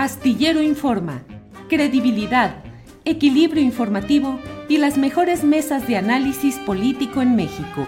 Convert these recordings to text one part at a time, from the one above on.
Astillero Informa, credibilidad, equilibrio informativo y las mejores mesas de análisis político en México.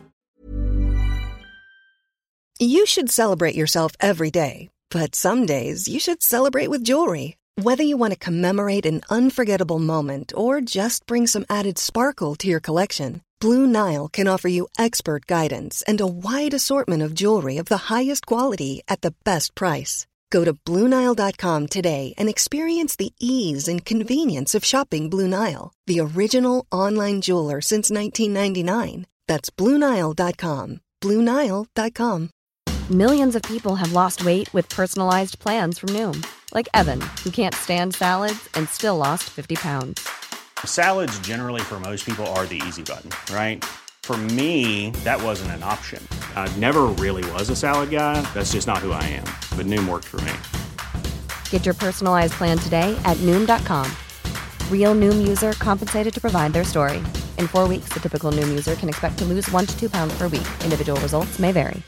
You should celebrate yourself every day, but some days you should celebrate with jewelry. Whether you want to commemorate an unforgettable moment or just bring some added sparkle to your collection, Blue Nile can offer you expert guidance and a wide assortment of jewelry of the highest quality at the best price. Go to BlueNile.com today and experience the ease and convenience of shopping Blue Nile, the original online jeweler since 1999. That's BlueNile.com. BlueNile.com. Millions of people have lost weight with personalized plans from Noom. Like Evan, who can't stand salads and still lost 50 pounds. Salads generally for most people are the easy button, right? For me, that wasn't an option. I never really was a salad guy. That's just not who I am. But Noom worked for me. Get your personalized plan today at Noom.com. Real Noom user compensated to provide their story. In 4 weeks, the typical Noom user can expect to lose 1 to 2 pounds per week. Individual results may vary.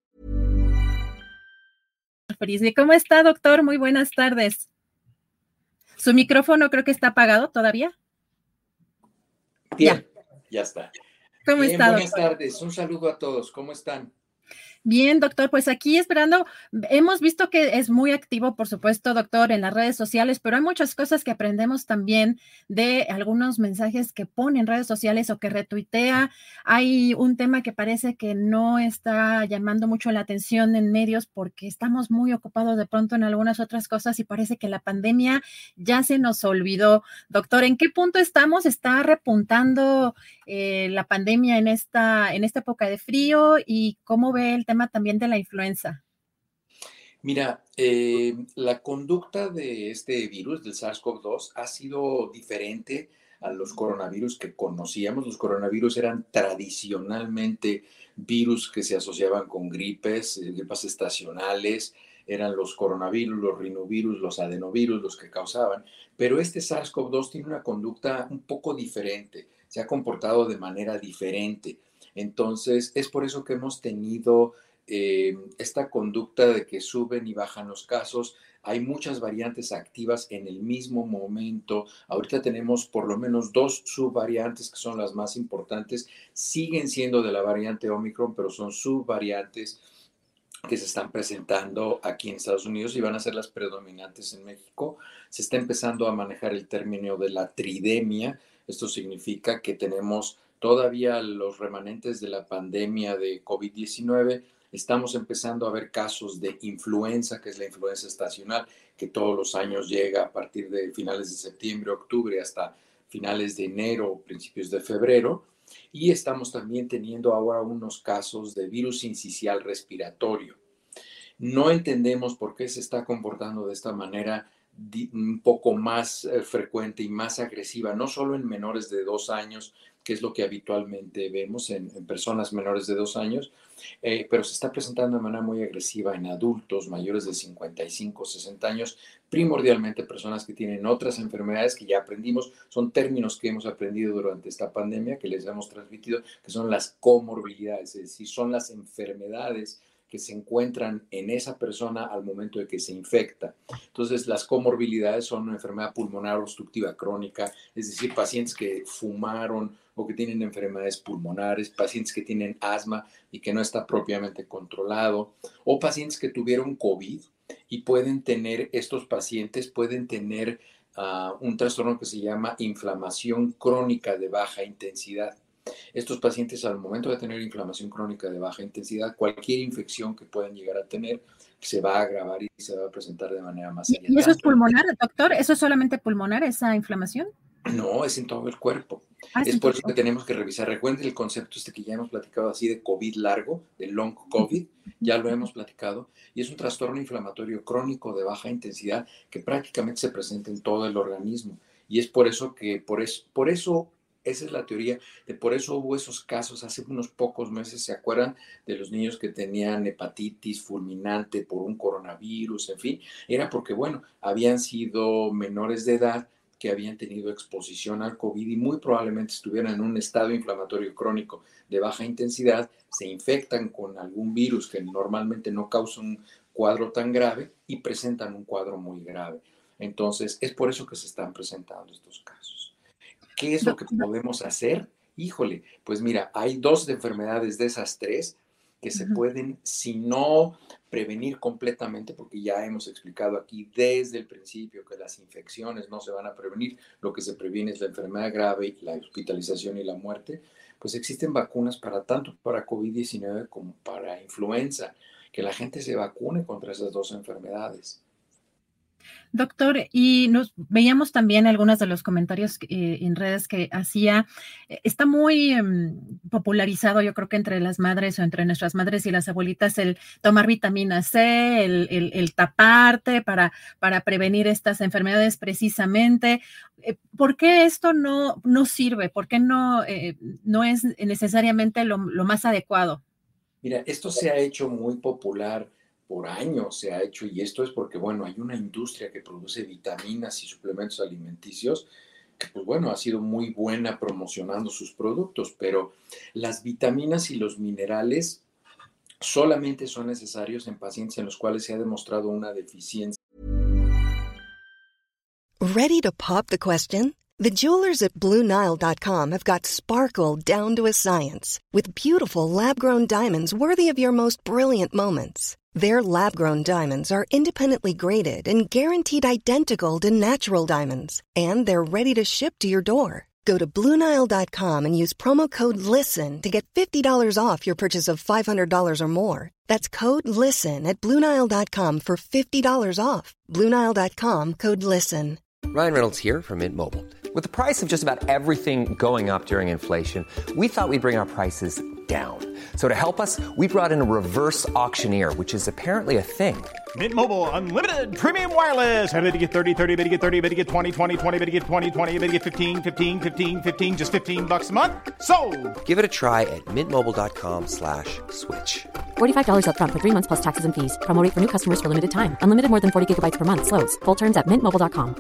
¿Cómo está, doctor? Muy buenas tardes. Su micrófono creo que está apagado todavía. Bien, ya está. ¿Cómo está, buenas doctor? tardes, un saludo a todos, ¿cómo están? Bien, doctor, pues aquí esperando, hemos visto que es muy activo, por supuesto, doctor, en las redes sociales, pero hay muchas cosas que aprendemos también de algunos mensajes que pone en redes sociales o que retuitea. Hay un tema que parece que no está llamando mucho la atención en medios porque estamos muy ocupados de pronto en algunas otras cosas y parece que la pandemia ya se nos olvidó. Doctor, ¿en qué punto estamos? ¿Está repuntando la pandemia en esta época de frío? ¿Y cómo ve el tema también de la influenza? Mira, la conducta de este virus, del SARS-CoV-2, ha sido diferente a los coronavirus que conocíamos. Los coronavirus eran tradicionalmente virus que se asociaban con gripes estacionales, eran los coronavirus, los rinovirus, los adenovirus los que causaban, pero este SARS-CoV-2 tiene una conducta un poco diferente, se ha comportado de manera diferente. Entonces, es por eso que hemos tenido esta conducta de que suben y bajan los casos. Hay muchas variantes activas en el mismo momento. Ahorita tenemos por lo menos 2 subvariantes que son las más importantes. Siguen siendo de la variante Omicron, pero son subvariantes que se están presentando aquí en Estados Unidos y van a ser las predominantes en México. Se está empezando a manejar el término de la tridemia. Esto significa que tenemos todavía los remanentes de la pandemia de COVID-19. Estamos empezando a ver casos de influenza, que es la influenza estacional, que todos los años llega a partir de finales de septiembre, octubre, hasta finales de enero o principios de febrero. Y estamos también teniendo ahora unos casos de virus sincicial respiratorio. No entendemos por qué se está comportando de esta manera un poco más frecuente y más agresiva, no solo en menores de 2 años, que es lo que habitualmente vemos en personas menores de 2 años, pero se está presentando de manera muy agresiva en adultos mayores de 55, 60 años, primordialmente personas que tienen otras enfermedades que ya aprendimos, son términos que hemos aprendido durante esta pandemia, que les hemos transmitido, que son las comorbilidades, es decir, son las enfermedades que se encuentran en esa persona al momento de que se infecta. Entonces, las comorbilidades son una enfermedad pulmonar obstructiva crónica, es decir, pacientes que fumaron o que tienen enfermedades pulmonares, pacientes que tienen asma y que no está propiamente controlado, o pacientes que tuvieron COVID y estos pacientes pueden tener un trastorno que se llama inflamación crónica de baja intensidad. Estos pacientes, al momento de tener inflamación crónica de baja intensidad, cualquier infección que puedan llegar a tener se va a agravar y se va a presentar de manera más seria. ¿Y eso es pulmonar, doctor? ¿Eso es solamente pulmonar, esa inflamación? No, es en todo el cuerpo. Es por eso que tenemos que revisar. Recuerden el concepto que ya hemos platicado así de COVID largo, de long COVID, ya lo hemos platicado, y es un trastorno inflamatorio crónico de baja intensidad que prácticamente se presenta en todo el organismo. Y es por eso esa es la teoría, por eso hubo esos casos hace unos pocos meses. ¿Se acuerdan de los niños que tenían hepatitis fulminante por un coronavirus? En fin, era porque, bueno, habían sido menores de edad que habían tenido exposición al COVID y muy probablemente estuvieran en un estado inflamatorio crónico de baja intensidad, se infectan con algún virus que normalmente no causa un cuadro tan grave y presentan un cuadro muy grave. Entonces, es por eso que se están presentando estos casos. ¿Qué es lo que podemos hacer? Híjole, pues mira, hay 2 enfermedades de esas 3 que se pueden, si no prevenir completamente, porque ya hemos explicado aquí desde el principio que las infecciones no se van a prevenir, lo que se previene es la enfermedad grave, la hospitalización y la muerte, pues existen vacunas para tanto para COVID-19 como para influenza, que la gente se vacune contra esas 2 enfermedades. Doctor, y nos veíamos también algunos de los comentarios en redes que hacía. Está muy popularizado, yo creo que entre las madres o entre nuestras madres y las abuelitas, el tomar vitamina C, el taparte para prevenir estas enfermedades precisamente. ¿Por qué esto no sirve? ¿Por qué no es necesariamente lo más adecuado? Mira, esto se ha hecho muy popular por años, se ha hecho, y esto es porque, bueno, hay una industria que produce vitaminas y suplementos alimenticios que, pues bueno, ha sido muy buena promocionando sus productos, pero las vitaminas y los minerales solamente son necesarios en pacientes en los cuales se ha demostrado una deficiencia. Ready to pop the question? The jewelers at BlueNile.com have got sparkle down to a science with beautiful lab-grown diamonds worthy of your most brilliant moments. Their lab-grown diamonds are independently graded and guaranteed identical to natural diamonds, and they're ready to ship to your door. Go to BlueNile.com and use promo code LISTEN to get $50 off your purchase of $500 or more. That's code LISTEN at BlueNile.com for $50 off. BlueNile.com, code LISTEN. Ryan Reynolds here from Mint Mobile. With the price of just about everything going up during inflation, we thought we'd bring our prices down. So to help us, we brought in a reverse auctioneer, which is apparently a thing. Mint Mobile Unlimited Premium Wireless. How to get 30, 30, bit to get 30, bit to get 20, 20, 20, bit to get 20, 20, bit to get 15, 15, 15, 15, just $15 a month? Sold! Give it a try at mintmobile.com/switch. $45 up front for 3 months plus taxes and fees. Promo rate for new customers for limited time. Unlimited more than 40 gigabytes per month. Slows full terms at mintmobile.com.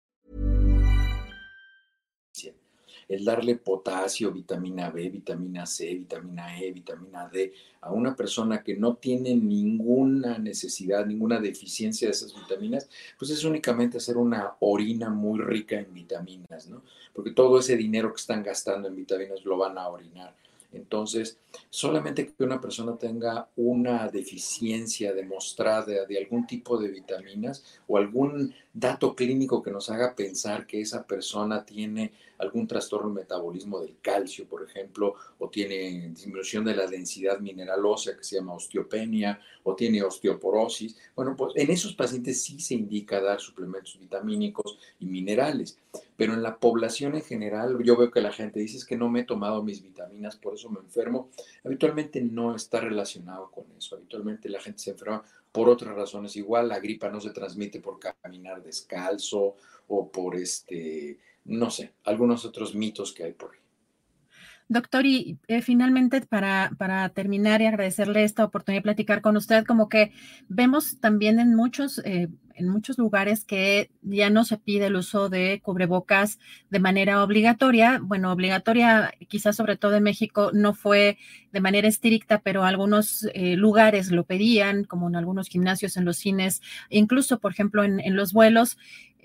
El darle potasio, vitamina B, vitamina C, vitamina E, vitamina D a una persona que no tiene ninguna necesidad, ninguna deficiencia de esas vitaminas, pues es únicamente hacer una orina muy rica en vitaminas, ¿no? Porque todo ese dinero que están gastando en vitaminas lo van a orinar. Entonces, solamente que una persona tenga una deficiencia demostrada de algún tipo de vitaminas o algún dato clínico que nos haga pensar que esa persona tiene algún trastorno del metabolismo del calcio, por ejemplo, o tiene disminución de la densidad mineral ósea que se llama osteopenia, o tiene osteoporosis. Bueno, pues en esos pacientes sí se indica dar suplementos vitamínicos y minerales, pero en la población en general yo veo que la gente dice es que no me he tomado mis vitaminas, por eso me enfermo. Habitualmente no está relacionado con eso, habitualmente la gente se enferma por otras razones. Igual la gripa no se transmite por caminar descalzo o por no sé, algunos otros mitos que hay por ahí. Doctor, y finalmente para terminar y agradecerle esta oportunidad de platicar con usted, como que vemos también en muchos lugares que ya no se pide el uso de cubrebocas de manera obligatoria. Bueno, obligatoria quizás sobre todo en México no fue de manera estricta, pero algunos lugares lo pedían, como en algunos gimnasios, en los cines, incluso, por ejemplo, en los vuelos.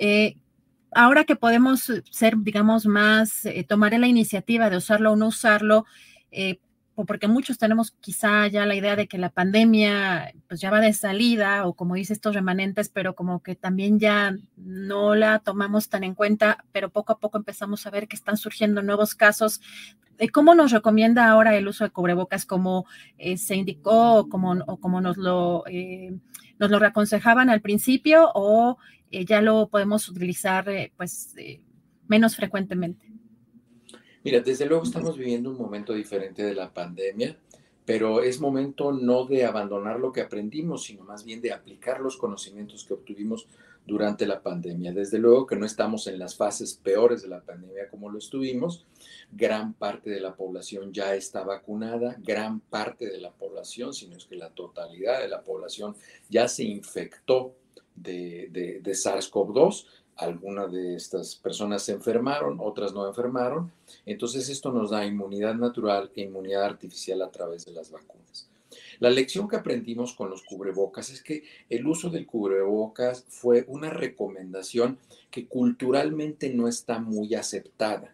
Ahora que podemos ser, digamos, más, tomar la iniciativa de usarlo o no usarlo, porque muchos tenemos quizá ya la idea de que la pandemia pues ya va de salida o como dice estos remanentes, pero como que también ya no la tomamos tan en cuenta, pero poco a poco empezamos a ver que están surgiendo nuevos casos. ¿Cómo nos recomienda ahora el uso de cubrebocas? ¿Como se indicó o como nos lo reaconsejaban al principio o ya lo podemos utilizar menos frecuentemente? Mira, desde luego estamos viviendo un momento diferente de la pandemia, pero es momento no de abandonar lo que aprendimos, sino más bien de aplicar los conocimientos que obtuvimos durante la pandemia. Desde luego que no estamos en las fases peores de la pandemia como lo estuvimos. Gran parte de la población ya está vacunada, gran parte de la población, si no es que la totalidad de la población ya se infectó de SARS-CoV-2. Algunas de estas personas se enfermaron, otras no enfermaron. Entonces esto nos da inmunidad natural e inmunidad artificial a través de las vacunas. La lección que aprendimos con los cubrebocas es que el uso del cubrebocas fue una recomendación que culturalmente no está muy aceptada.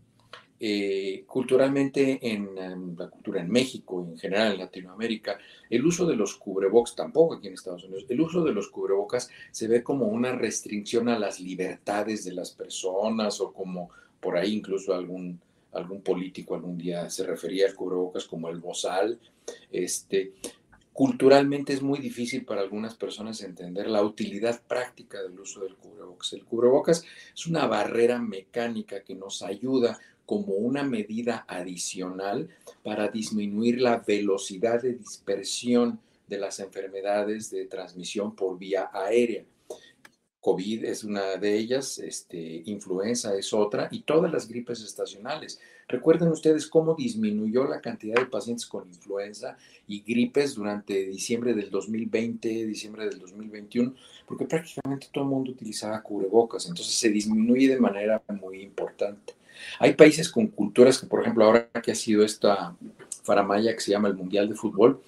Culturalmente en la cultura en México y en general en Latinoamérica, el uso de los cubrebocas, tampoco aquí en Estados Unidos, el uso de los cubrebocas se ve como una restricción a las libertades de las personas, o como por ahí incluso algún político algún día se refería al cubrebocas como el bozal. Culturalmente es muy difícil para algunas personas entender la utilidad práctica del uso del cubrebocas. El cubrebocas es una barrera mecánica que nos ayuda como una medida adicional para disminuir la velocidad de dispersión de las enfermedades de transmisión por vía aérea. COVID es una de ellas, influenza es otra, y todas las gripes estacionales. Recuerden ustedes cómo disminuyó la cantidad de pacientes con influenza y gripes durante diciembre del 2020, diciembre del 2021, porque prácticamente todo el mundo utilizaba cubrebocas, entonces se disminuye de manera muy importante. Hay países con culturas que, por ejemplo, ahora que ha sido esta faramalla que se llama el Mundial de Fútbol,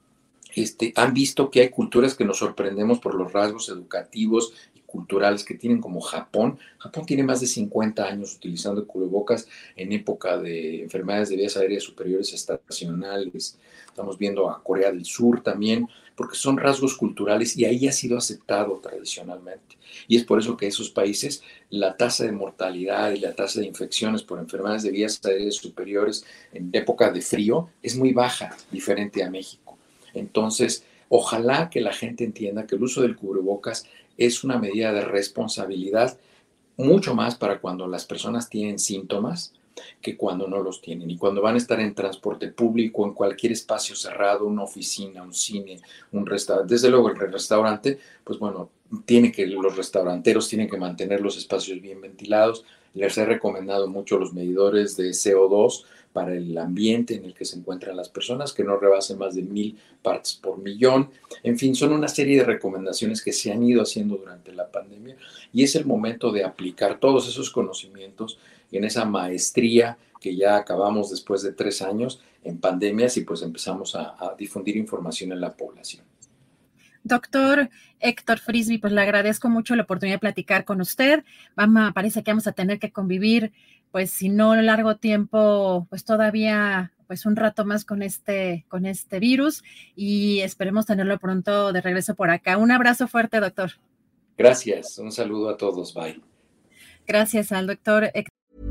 han visto que hay culturas que nos sorprendemos por los rasgos educativos y culturales que tienen, como Japón. Japón tiene más de 50 años utilizando cubrebocas en época de enfermedades de vías aéreas superiores estacionales. Estamos viendo a Corea del Sur también, porque son rasgos culturales y ahí ha sido aceptado tradicionalmente. Y es por eso que esos países, la tasa de mortalidad y la tasa de infecciones por enfermedades de vías aéreas superiores en época de frío es muy baja, diferente a México. Entonces, ojalá que la gente entienda que el uso del cubrebocas es una medida de responsabilidad, mucho más para cuando las personas tienen síntomas que cuando no los tienen. Y cuando van a estar en transporte público, en cualquier espacio cerrado, una oficina, un cine, un restaurante. Desde luego el restaurante, pues bueno, los restauranteros tienen que mantener los espacios bien ventilados. Les he recomendado mucho los medidores de CO2 para el ambiente en el que se encuentran las personas, que no rebasen más de 1000 partes por millón. En fin, son una serie de recomendaciones que se han ido haciendo durante la pandemia y es el momento de aplicar todos esos conocimientos en esa maestría que ya acabamos después de 3 años en pandemias y pues empezamos a difundir información en la población. Doctor Héctor Frisby, pues le agradezco mucho la oportunidad de platicar con usted. Parece que vamos a tener que convivir, pues si no largo tiempo, pues todavía pues un rato más con este virus y esperemos tenerlo pronto de regreso por acá. Un abrazo fuerte, doctor. Gracias, un saludo a todos, bye. Gracias al doctor Héctor.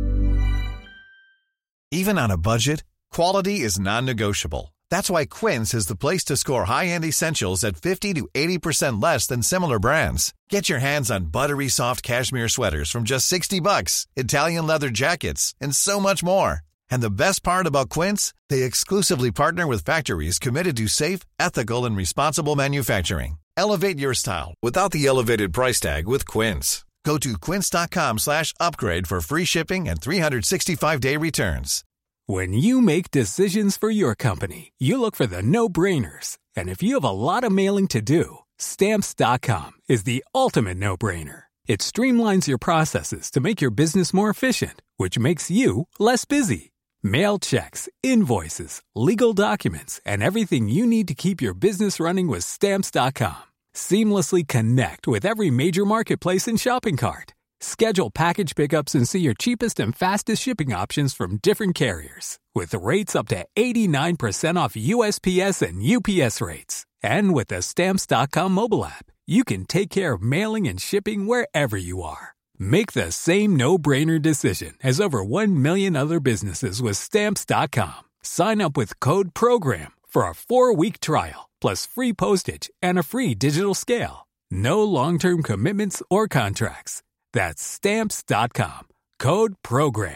Even on a budget, quality is non-negotiable. That's why Quince is the place to score high-end essentials at 50 to 80% less than similar brands. Get your hands on buttery soft cashmere sweaters from just $60, Italian leather jackets, and so much more. And the best part about Quince, they exclusively partner with factories committed to safe, ethical, and responsible manufacturing. Elevate your style without the elevated price tag with Quince. Go to quince.com/upgrade for free shipping and 365-day returns. When you make decisions for your company, you look for the no-brainers. And if you have a lot of mailing to do, Stamps.com is the ultimate no-brainer. It streamlines your processes to make your business more efficient, which makes you less busy. Mail checks, invoices, legal documents, and everything you need to keep your business running with Stamps.com. Seamlessly connect with every major marketplace and shopping cart. Schedule package pickups and see your cheapest and fastest shipping options from different carriers, with rates up to 89% off USPS and UPS rates. And with the Stamps.com mobile app, you can take care of mailing and shipping wherever you are. Make the same no-brainer decision as over 1 million other businesses with Stamps.com. Sign up with code PROGRAM for a 4-week trial, plus free postage and a free digital scale. No long-term commitments or contracts. That's Stamps.com. Code PROGRAM.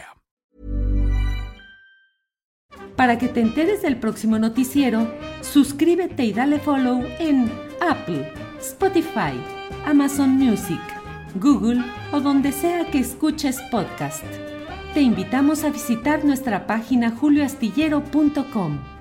Para que te enteres del próximo noticiero, suscríbete y dale follow en Apple, Spotify, Amazon Music, Google o donde sea que escuches podcast. Te invitamos a visitar nuestra página julioastillero.com.